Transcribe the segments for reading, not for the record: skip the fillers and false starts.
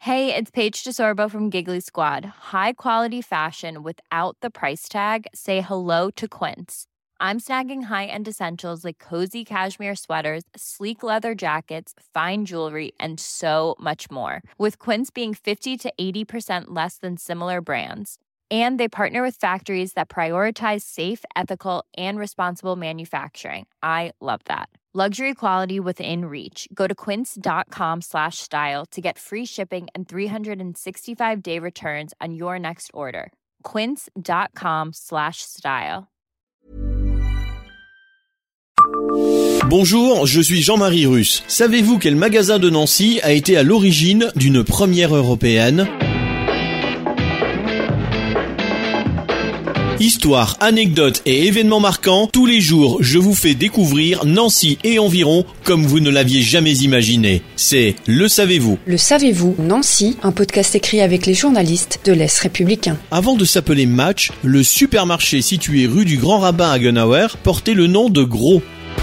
Hey, it's Paige DeSorbo from Giggly Squad. High quality fashion without the price tag. Say hello to Quince. I'm snagging high-end essentials like cozy cashmere sweaters, sleek leather jackets, fine jewelry, and so much more. With Quince being 50 to 80% less than similar brands. And they partner with factories that prioritize safe, ethical, and responsible manufacturing. I love that. Luxury quality within reach. Go to quince.com/style to get free shipping and 365-day returns on your next order. Quince.com/style. Bonjour, je suis Jean-Marie Russe. Savez-vous quel magasin de Nancy a été à l'origine d'une première européenne ? Histoire, anecdotes et événements marquants, tous les jours je vous fais découvrir Nancy et environ comme vous ne l'aviez jamais imaginé. C'est Le Savez-vous. Le Savez-vous, Nancy, un podcast écrit avec les journalistes de l'Est républicain. Avant de s'appeler Match, le supermarché situé rue du Grand Rabbin à Gunauer portait le nom de Gros.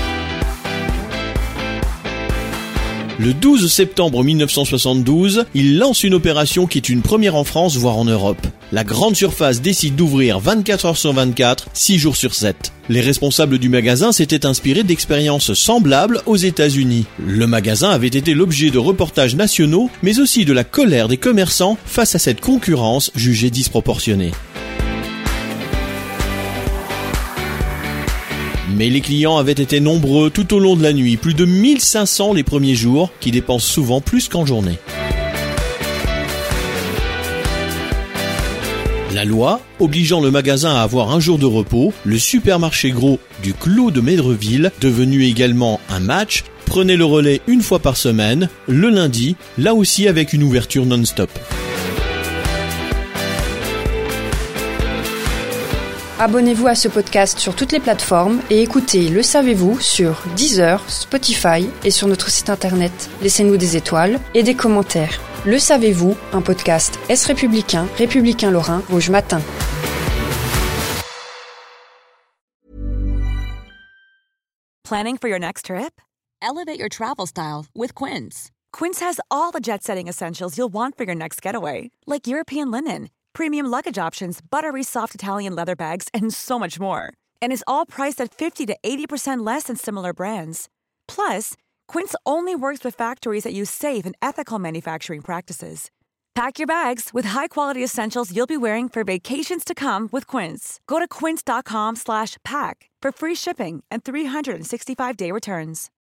Le 12 septembre 1972, il lance une opération qui est une première en France, voire en Europe. La grande surface décide d'ouvrir 24 heures sur 24, 6 jours sur 7. Les responsables du magasin s'étaient inspirés d'expériences semblables aux États-Unis. Le magasin avait été l'objet de reportages nationaux, mais aussi de la colère des commerçants face à cette concurrence jugée disproportionnée. Mais les clients avaient été nombreux tout au long de la nuit, plus de 1500 les premiers jours, qui dépensent souvent plus qu'en journée. La loi, obligeant le magasin à avoir un jour de repos, le supermarché Gros du Clos de Médreville, devenu également un Match, prenait le relais une fois par semaine, le lundi, là aussi avec une ouverture non-stop. Abonnez-vous à ce podcast sur toutes les plateformes et écoutez Le Savez-vous sur Deezer, Spotify et sur notre site internet. Laissez-nous des étoiles et des commentaires. Le Savez-vous, un podcast Est républicain, républicain lorrain, Rouge Matin. Planning for your next trip? Elevate your travel style with Quince. Quince has all the jet-setting essentials you'll want for your next getaway, like European linen, premium luggage options, buttery soft Italian leather bags, and so much more. And is all priced at 50 to 80% less than similar brands. Plus, Quince only works with factories that use safe and ethical manufacturing practices. Pack your bags with high-quality essentials you'll be wearing for vacations to come with Quince. Go to quince.com/pack for free shipping and 365-day returns.